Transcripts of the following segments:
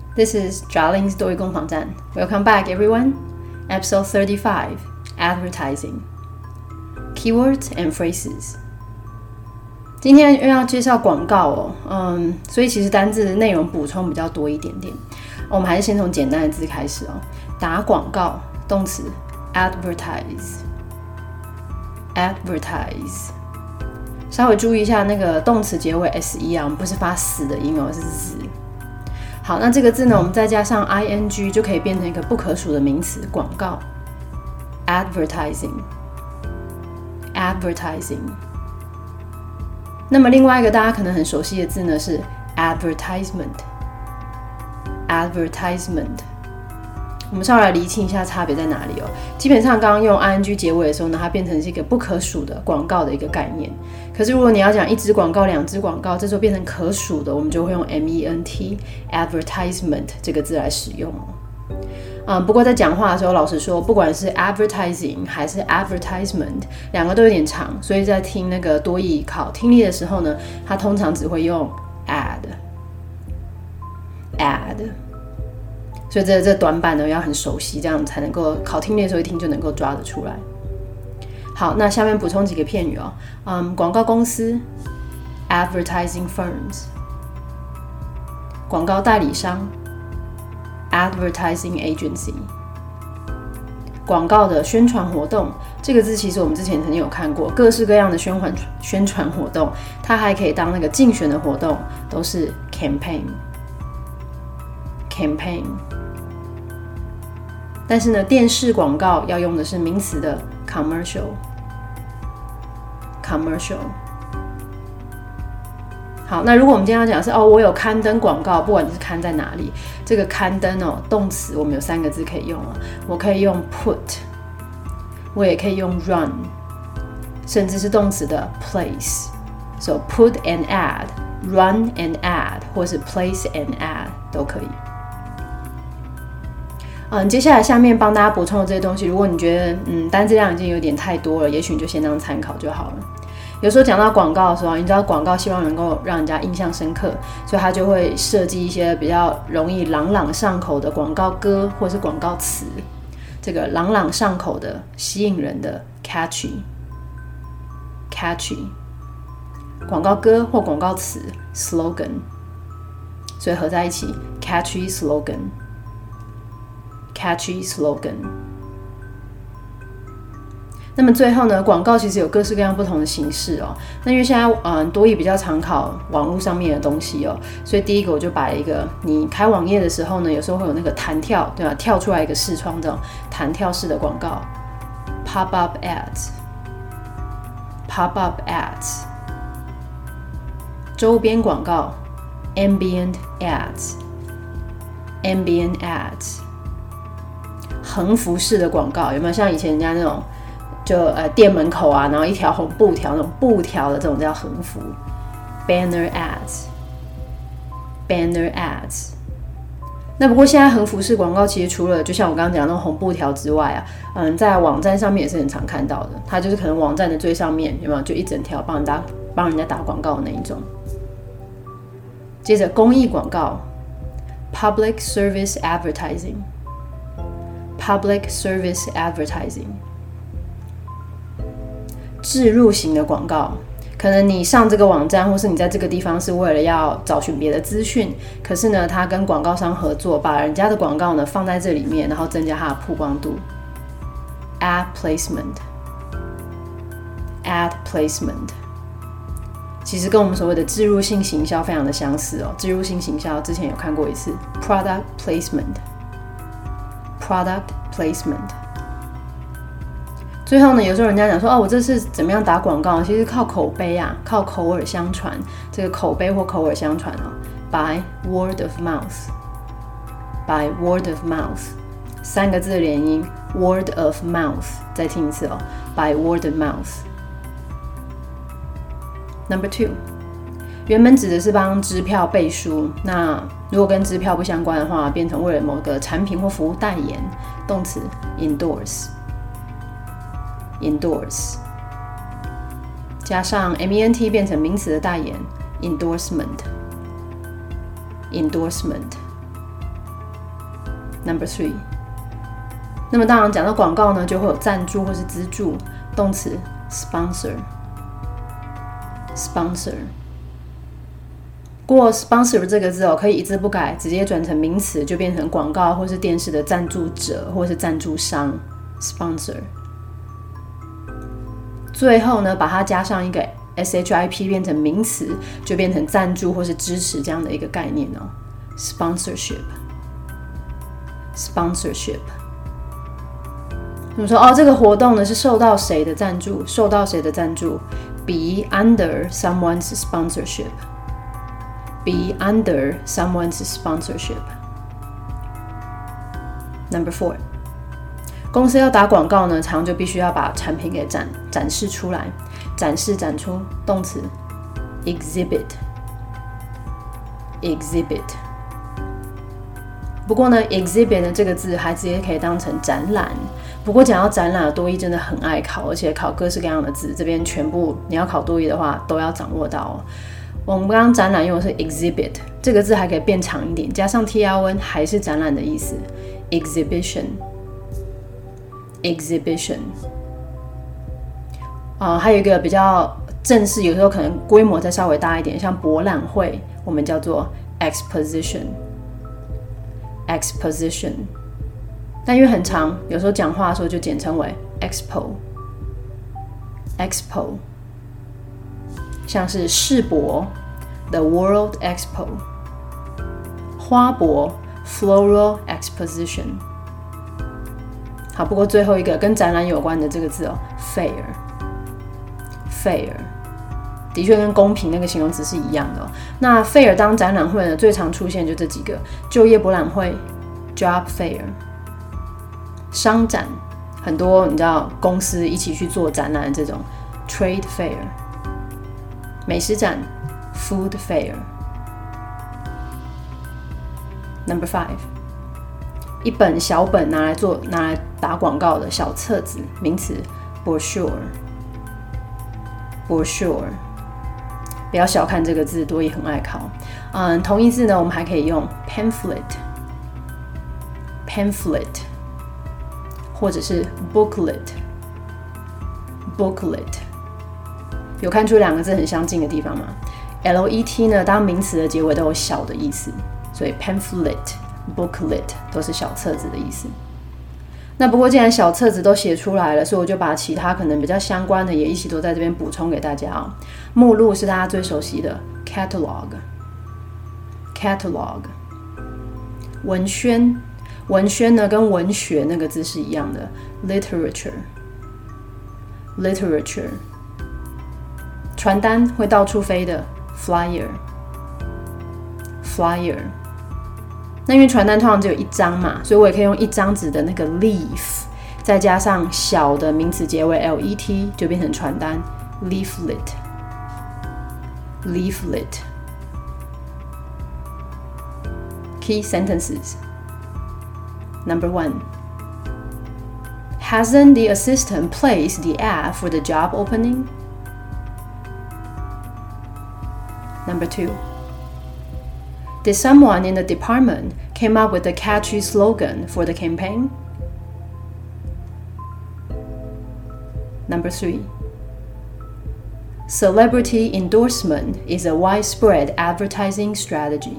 This is Jarling's 多益攻防战。Welcome back, everyone. Episode 35, Advertising. Keywords and phrases. 今天又要介绍广告哦，所以其实单字的内容补充比较多一点点。我们还是先从简单的字开始哦。打广告，动词 advertise， 稍微注意一下那个动词结尾 se 啊，我们不是发死的音哦，是字。好，那这个字呢，我们再加上 ing 就可以变成一个不可数的名词，广告 advertising。那么另外一个大家可能很熟悉的字呢是 advertisement。我们稍微来厘清一下差别在哪里哦。基本上刚刚用 ing 结尾的时候呢，它变成是一个不可数的广告的一个概念。可是如果你要讲一支广告、两支广告，这时候变成可数的，我们就会用 ment advertisement 这个字来使用哦。不过在讲话的时候，老实说，不管是 advertising 还是 advertisement， 两个都有点长，所以在听那个多益考听力的时候呢，它通常只会用 add。所以这短板呢要很熟悉，这样才能够考听力的时候一听就能够抓得出来。好，那下面补充几个片语哦。广告公司 advertising firms， 广告代理商 advertising agency， 广告的宣传活动，这个字其實我們之前曾經有看過，各式各樣的宣傳活動，它還可以當那個競選的活動，都是 campaign。但是呢，電視廣告要用的是名詞的 commercial。好，那如果我們今天要講的是我有刊登廣告，不管你是刊在哪裡，這個刊登動詞我們有3個字可以用我可以用 put， 我也可以用 run， 甚至是動詞的 place。So put and add, run and add， 或是 place and add 都可以。接下来下面帮大家补充的这些东西，如果你觉得单字量已经有点太多了，也许你就先当参考就好了。有时候讲到广告的时候，你知道广告希望能够让人家印象深刻，所以他就会设计一些比较容易朗朗上口的广告歌或是广告词。这个朗朗上口的、吸引人的 catchy， 广告歌或广告词 slogan， 所以合在一起 catchy slogan。那么最后呢，广告其实有各式各样不同的形式哦。那因为现在多益比较常考网络上面的东西哦，所以第一个我就把一个你开网页的时候呢，有时候会有那个弹跳，对吧？跳出来一个视窗这种弹跳式的广告 ，pop-up ads， 周边广告 ambient ads， 横幅式的广告有没有？像以前人家那种就店门口啊，然后一条红布条，那种布条的这种叫横幅 banner ads。 那不过现在横幅式广告其实除了就像我刚刚讲的那种红布条之外啊，在网站上面也是很常看到的。它就是可能网站的最上面有没有就一整条帮人家打广告的那一种。接着公益广告 public service advertising， 置入型的广告，可能你上这个网站或是你在这个地方是为了要找寻别的资讯，可是呢他跟广告商合作，把人家的广告呢放在这里面，然后增加它的曝光度 ad placement。 其实跟我们所谓的置入性行销非常的相似哦。置入性行销之前有看过一次 product placement。最后呢，有时候人家讲说我这是怎么样打广告，其实靠口碑啊，靠口耳相传。这个口碑或口耳相传by word of mouth， 3个字的连音 word of mouth， 再听一次by word of mouth。Number 2， 原本指的是帮支票背书，那如果跟支票不相关的话，变成为了某个产品或服务代言，动词 endorse， 加上 ment 变成名词的代言 endorsement。 Number 3。那么当然讲到广告呢，就会有赞助或是资助，动词 sponsor。不过 sponsor 这个字可以一字不改，直接转成名词，就变成广告或是电视的赞助者或是赞助商 sponsor。最後呢，把它加上一个 ship 变成名词，就变成赞助或是支持这样的一个概念sponsorship。我们说这个活动呢是受到谁的赞助？受到谁的赞助 ？Be under someone's sponsorship。Be under someone's sponsorship. Number 4， 公司要打广告呢，常就必须要把产品给展示出来，展示展出，动词 exhibit。不过呢 exhibit 的这个字还直接可以当成展览。不过讲到展览，多益真的很爱考，而且考各式各样的字，这边全部你要考多益的话都要掌握到我们刚刚展览用的是 exhibit 这个字还可以变长一点，加上 tr 还是展览的意思 exhibition。还有一个比较正式，有时候可能规模再稍微大一点，像博览会我们叫做 exposition。但因为很长，有时候讲话的时候就简称为 expo。像是世博 The World Expo， 花博 Floral Exposition。 好，不过最后一个跟展览有关的这个字Fair 的确跟公平那个形容词是一样的那 Fair 当展览会呢，最常出现就这几个：就业博览会 Job Fair， 商展，很多你知道公司一起去做展览的这种 Trade Fair，美食展 Food Fair。 Number 5， 一本小本拿来打广告的小册子，名词 brochure。 不要小看这个字，多益很爱考。同义字呢，我们还可以用 pamphlet 或者是 booklet。有看出两个字很相近的地方吗？ let 呢，当名词的结尾都有小的意思，所以 pamphlet、booklet 都是小册子的意思。那不过既然小册子都写出来了，所以我就把其他可能比较相关的也一起都在这边补充给大家目录是大家最熟悉的 catalog。 文宣呢跟文学那个字是一样的 literature。传单会到处飞的 flyer。那因为传单通常只有一张嘛，所以我也可以用一张纸的那个 leaf， 再加上小的名词结尾 let， 就变成传单 leaflet。 Key sentences. Number 1. Hasn't the assistant placed the ad for the job opening? Number 2. Did someone in the department came up with a catchy slogan for the campaign? Number 3. Celebrity endorsement is a widespread advertising strategy.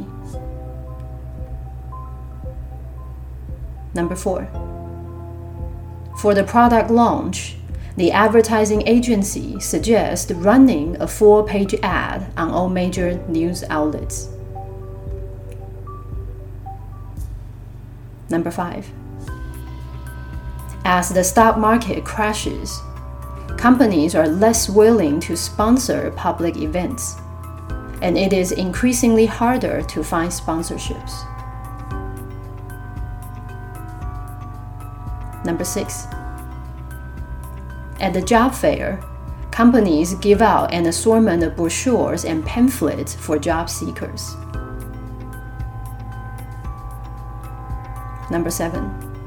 Number 4. For the product launch, the advertising agency suggests running a 4-page ad on all major news outlets. Number 5. As the stock market crashes, companies are less willing to sponsor public events, and it is increasingly harder to find sponsorships. Number 6. At the job fair, companies give out an assortment of brochures and pamphlets for job seekers. Number 7.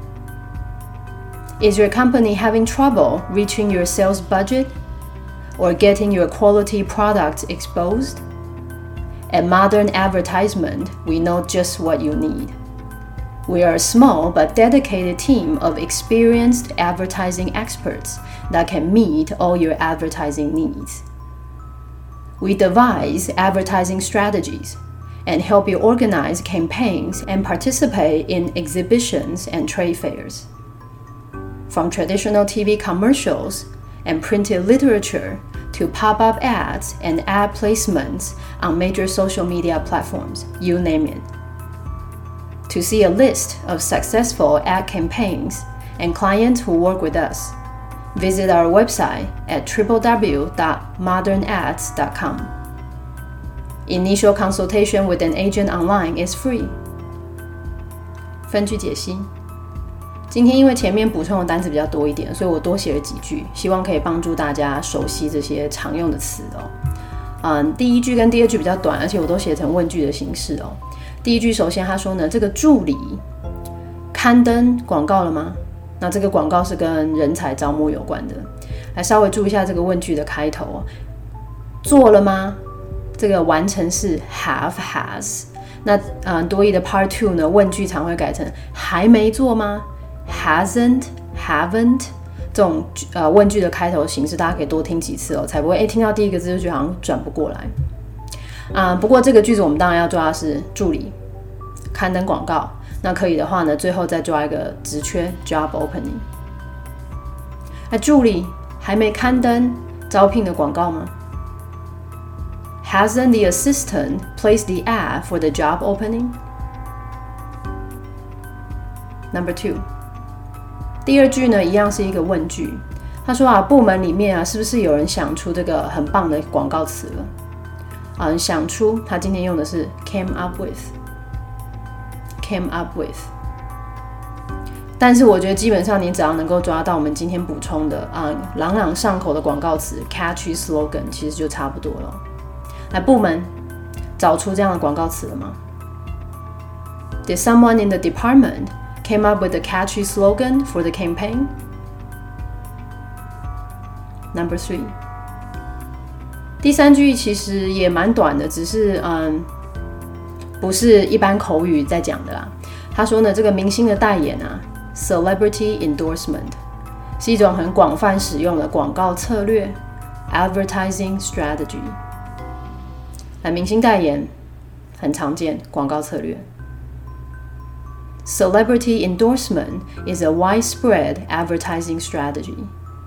Is your company having trouble reaching your sales budget or getting your quality products exposed? At Modern Advertisement, we know just what you need. We are a small but dedicated team of experienced advertising experts that can meet all your advertising needs. We devise advertising strategies and help you organize campaigns and participate in exhibitions and trade fairs. From traditional TV commercials and printed literature to pop-up ads and ad placements on major social media platforms, you name it. To see a list of successful ad campaigns and clients who work with us, visit our website at www.modernads.com. Initial consultation with an agent online is free. 分句解析。今天因为前面补充的单词比较多一点，所以我多写了几句，希望可以帮助大家熟悉这些常用的词哦。第一句跟第二句比较短，而且我都写成问句的形式哦。第一句首先他说呢，这个助理刊登广告了吗？那这个广告是跟人才招募有关的，来稍微注意一下这个问句的开头哦。做了吗？这个完成式 have has。那多益的 Part 2呢，问句常会改成还没做吗？ hasn't haven't 这种问句的开头形式，大家可以多听几次哦，才不会听到第一个字就觉得好像转不过来。不过这个句子我们当然要抓的是助理刊登广告，那可以的话呢，最后再抓一个职缺 job opening。助理还没刊登招聘的广告吗？ Hasn't the assistant placed the ad for the job opening? Number 2， 第二句呢一样是一个问句，他说部门里面是不是有人想出这个很棒的广告词了？想出，他今天用的是 came up with， 但是我觉得基本上你只要能够抓到我们今天补充的朗朗上口的广告词 catchy slogan， 其实就差不多了。来，部门找出这样的广告词了吗？ Did someone in the department came up with a catchy slogan for the campaign? Number 3，第三句其实也蛮短的，只是不是一般口语在讲的啦。他说呢，这个明星的代言celebrity endorsement 是一种很广泛使用的广告策略 advertising strategy。明星代言很常见，广告策略。Celebrity endorsement is a widespread advertising strategy.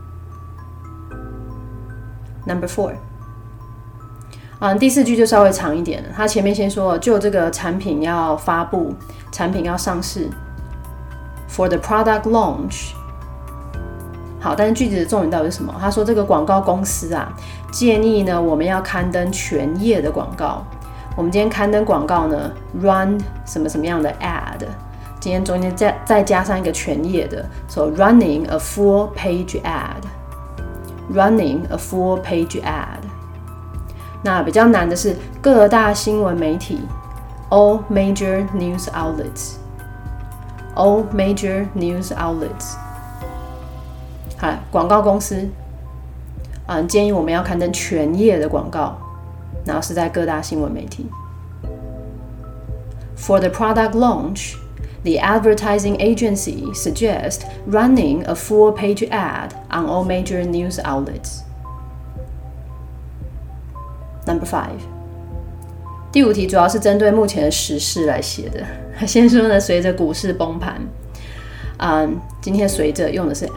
Number 4。第四句就稍微长一点了，他前面先说就这个产品要发布，产品要上市 for the product launch。 好，但是句子的重点到底是什么？他说这个广告公司建议呢我们要刊登全页的广告。我们今天刊登广告呢 run 什么什么样的 ad， 今天中间再加上一个全页的 so running a full page ad， running a full page ad。那比较难的是各大新闻媒体 all major news outlets， all major news outlets。 好，广告公司建议我们要刊登全页的广告，然后是在各大新闻媒体。 For the product launch, the advertising agency suggests running a full page ad on all major news outlets. Number 5， 第5题主要是针对目前的时事来写的。先说呢，随着股市崩盘，今天随着用的是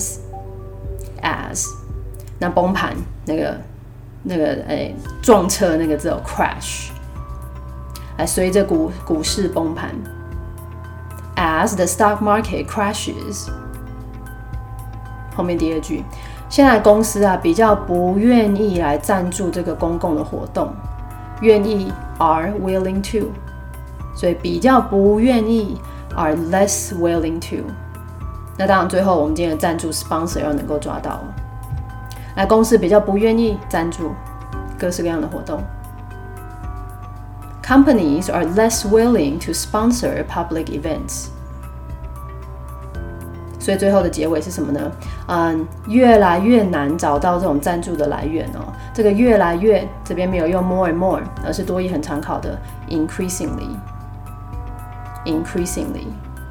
as， 那崩盘那个撞车那个字crash， 来随着股市崩盘 ，as the stock market crashes。后面第二句。现在公司比较不愿意来赞助这个公共的活动，愿意 are willing to， 所以比较不愿意 are less willing to。那当然最后我们今天的赞助 sponsor 要能够抓到，来公司比较不愿意赞助各式各样的活动。Companies are less willing to sponsor public events。所以最后的结尾是什么呢？越来越难找到这种赞助的来源哦。这个越来越这边没有用 more and more， 而是多益很常考的 increasingly。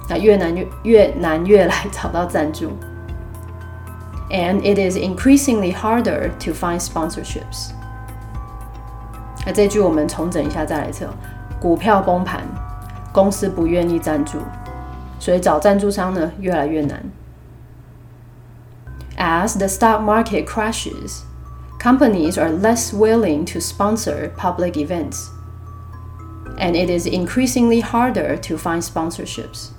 越难越来找到赞助。And it is increasingly harder to find sponsorships. 这句我们重整一下再来一次。股票崩盘，公司不愿意赞助，所以找赞助商呢越来越难。As the stock market crashes, companies are less willing to sponsor public events, and it is increasingly harder to find sponsorships.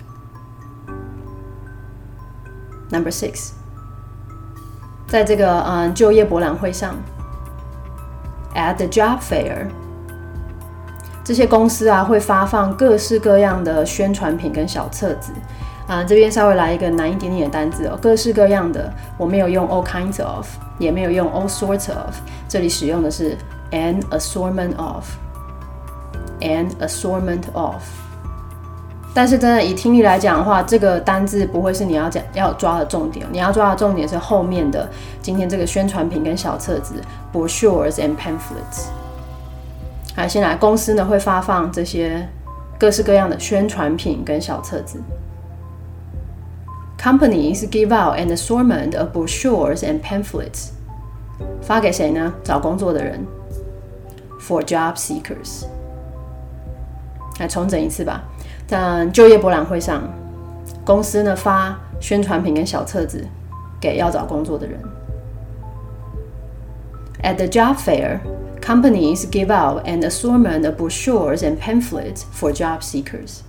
Number 6. 在这个就业博览会上 ，at the job fair， 这些公司会发放各式各样的宣传品跟小册子。这边稍微来一个难一点点的单字各式各样的，我没有用 all kinds of， 也没有用 all sorts of， 这里使用的是 an assortment of。an assortment of。但是真的以听力来讲的话，这个单字不会是你要抓的重点，你要抓的重点是后面的今天这个宣传品跟小册子 brochures and pamphlets。先来，公司呢会发放这些各式各样的宣传品跟小册子。Companies give out an assortment of brochures and pamphlets。发给谁呢？找工作的人。For job seekers。来重整一次吧。在就业博览会上，公司呢发宣传品跟小册子给要找工作的人。At the job fair, companies give out an assortment of brochures and pamphlets for job seekers.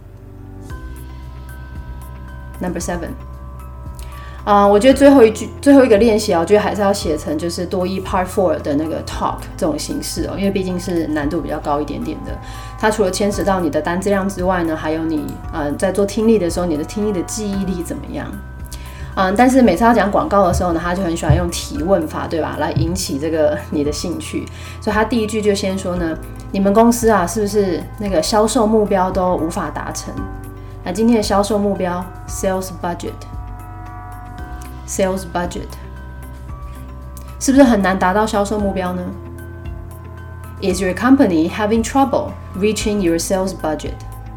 Number 7. 我觉得最后一个练习我觉得还是要写成就是多益 Part 4的那个 talk 这种形式因为毕竟是难度比较高一点点的。它除了牵扯到你的单字量之外呢，还有你在做听力的时候，你的听力的记忆力怎么样？但是每次要讲广告的时候呢，他就很喜欢用提问法，对吧？来引起这个你的兴趣。所以他第一句就先说呢，你们公司是不是那个销售目标都无法达成？今天的销售目标 sales budget。Sales budget 是不是很难达到销售目标呢？ Is your company having trouble reaching your sales budget?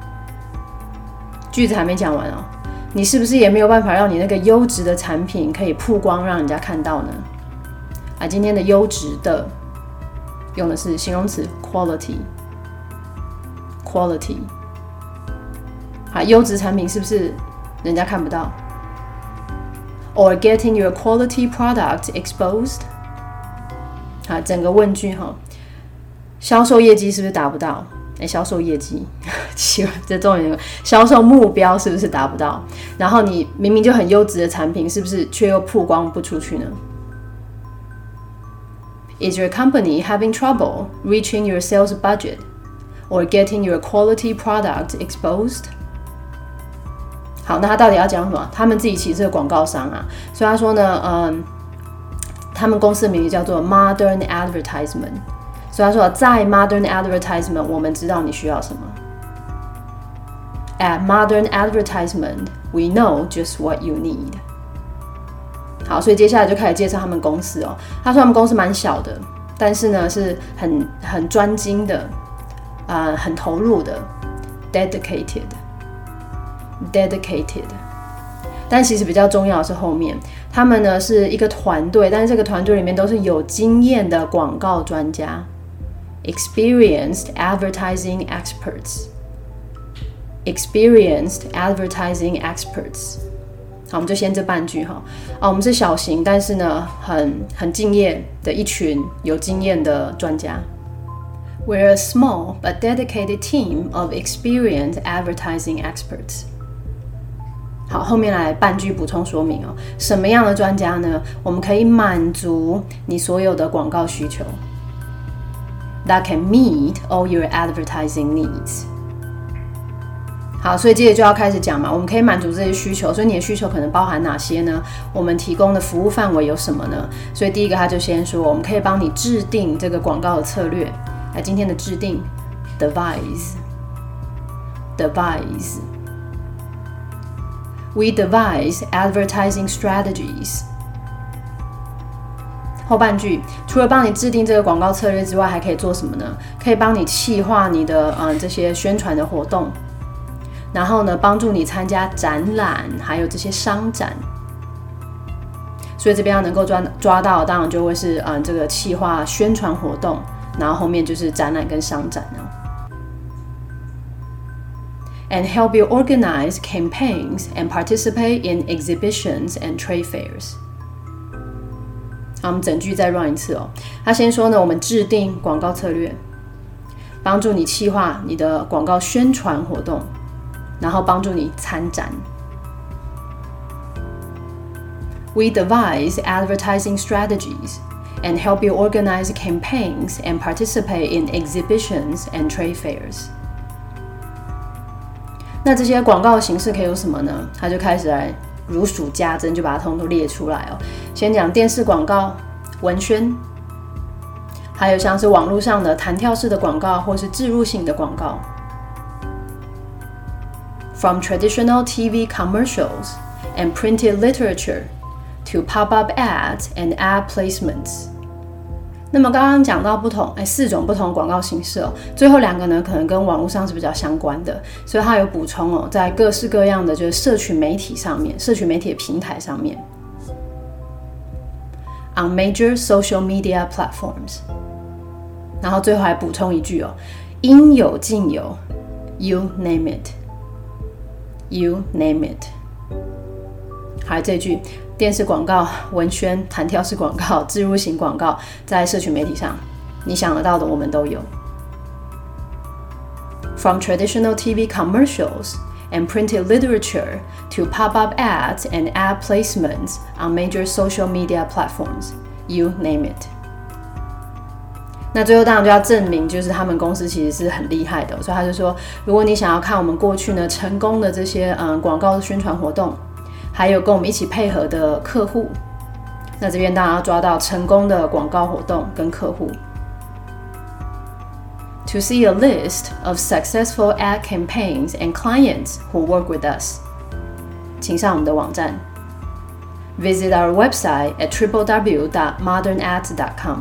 句子还没讲完你是不是也没有办法让你那个优质的产品可以曝光让人家看到呢？今天的优质的用的是形容词 quality。优质产品是不是人家看不到？Or getting your quality product exposed？ 整个问句销售业绩是不是达不到？销售业绩，这重点，销售目标是不是达不到？然后你明明就很优质的产品，是不是却又曝光不出去呢？ Is your company having trouble reaching your sales budget or getting your quality product exposed？好，那他到底要讲什么？他们自己其实是个广告商所以他说呢，他们公司的名字叫做 Modern Advertisement。所以他说，在 Modern Advertisement， 我们知道你需要什么。At Modern Advertisement, we know just what you need。好，所以接下来就开始介绍他们公司他说他们公司蛮小的，但是呢是很专精的，很投入的 ，dedicated。但其实比较重要的是后面，他们呢是一个团队，但是这个团队里面都是有经验的广告专家 ，experienced advertising experts。好，我们就先这半句我们是小型，但是呢很敬业的一群有经验的专家。We're a small but dedicated team of experienced advertising experts。好，后面来半句补充说明什么样的专家呢？我们可以满足你所有的广告需求。That can meet all your advertising needs。好，所以接着就要开始讲嘛，我们可以满足这些需求，所以你的需求可能包含哪些呢？我们提供的服务范围有什么呢？所以第一个他就先说，我们可以帮你制定这个广告的策略。来，今天的制定 devise。We devise advertising strategies。后半句，除了帮你制定这个广告策略之外，还可以做什么呢？可以帮你企划你的这些宣传的活动。 然后呢，帮助你参加展览，还有这些商展。所以这边要能够抓到，当然就会是这个企划宣传活动，然后后面就是展览跟商展哦。And help you organize campaigns and participate in exhibitions and trade fairs. 好，我们整句再 run 一次哦。他先说呢，我们制定广告策略，帮助你企划你的广告宣传活动，然后帮助你参展。We devise advertising strategies and help you organize campaigns and participate in exhibitions and trade fairs. 那这些广告形式可以有什么呢？他就开始来如数家珍，就把它通通列出来哦。先讲电视广告、文宣，还有像是网络上的弹跳式的广告或是置入性的广告。From traditional TV commercials and printed literature to pop-up ads and ad placements. 那么刚刚讲到4种不同广告形式哦，最后2个呢可能跟网络上是比较相关的，所以它有补充哦，在各式各样的就是社群媒体上面，社群媒体的平台上面。On major social media platforms. 然后最后还补充一句哦，应有尽有 ，You name it, You name it. 还有这句。电视广告、文宣、弹跳式广告、置入型广告，在社群媒体上，你想得到的我们都有。From traditional TV commercials and printed literature to pop-up ads and ad placements on major social media platforms, you name it. 那最后当然就要证明，就是他们公司其实是很厉害的，所以他就说，如果你想要看我们过去呢成功的这些广告宣传活动。还有跟我们一起配合的客户，那这边当然要抓到成功的广告活动跟客户。To see a list of successful ad campaigns and clients who work with us, 请上我们的网站 Visit our website at www.modernads.com.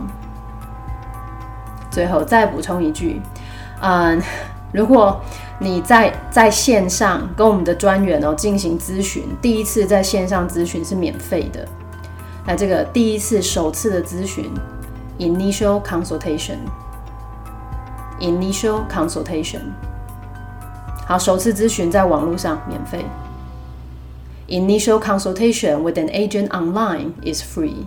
最后再补充一句，如果你在线上跟我们的专员进行咨询，第一次在线上咨询是免费的。那这个首次的咨询 ，initial consultation。好，首次咨询在网络上免费。Initial consultation with an agent online is free.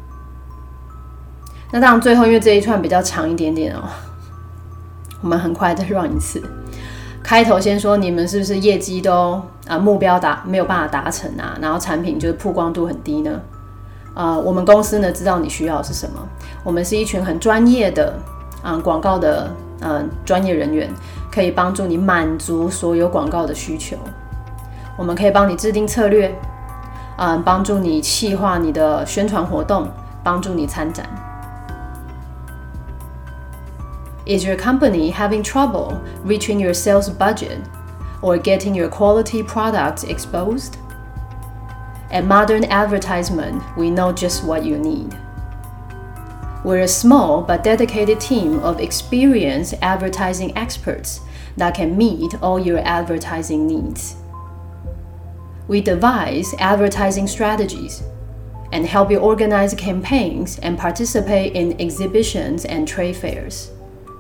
那当然，最后因为这一串比较长一点点哦，我们很快再 run 一次。开头先说你们是不是业绩都目标没有办法达成啊？然后产品就是曝光度很低呢？我们公司呢知道你需要的是什么？我们是一群很专业的广告的专业人员，可以帮助你满足所有广告的需求。我们可以帮你制定策略，帮助你企划你的宣传活动，帮助你参展。Is your company having trouble reaching your sales budget or getting your quality products exposed? At Modern Advertisement, we know just what you need. We're a small but dedicated team of experienced advertising experts that can meet all your advertising needs. We devise advertising strategies and help you organize campaigns and participate in exhibitions and trade fairs.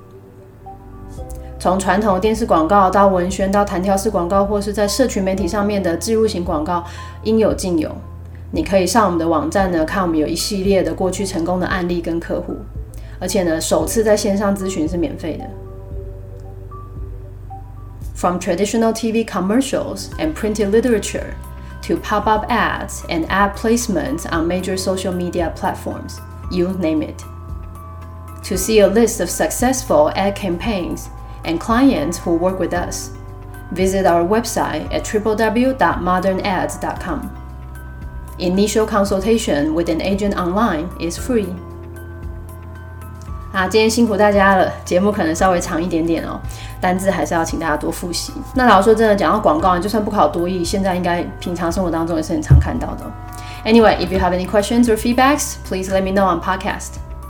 从传统的电视广告到文宣到弹跳式广告，或是在社群媒体上面的置入型广告，应有尽有。你可以上我们的网站呢，看我们有一系列的过去成功的案例跟客户，而且呢，首次在线上咨询是免费的。From traditional TV commercials and printed literature to pop-up ads and ad placements on major social media platforms, you name it. To see a list of successful ad campaigns and clients who work with us, visit our website at www.modernads.com. Initial consultation with an agent online is free. 今天辛苦大家了，节目可能稍微长一点点哦，单字还是要请大家多复习。那老实说真的，讲到广告，就算不考多益，现在应该平常生活当中也是很常看到的。Anyway, if you have any questions or feedbacks, please let me know on podcast.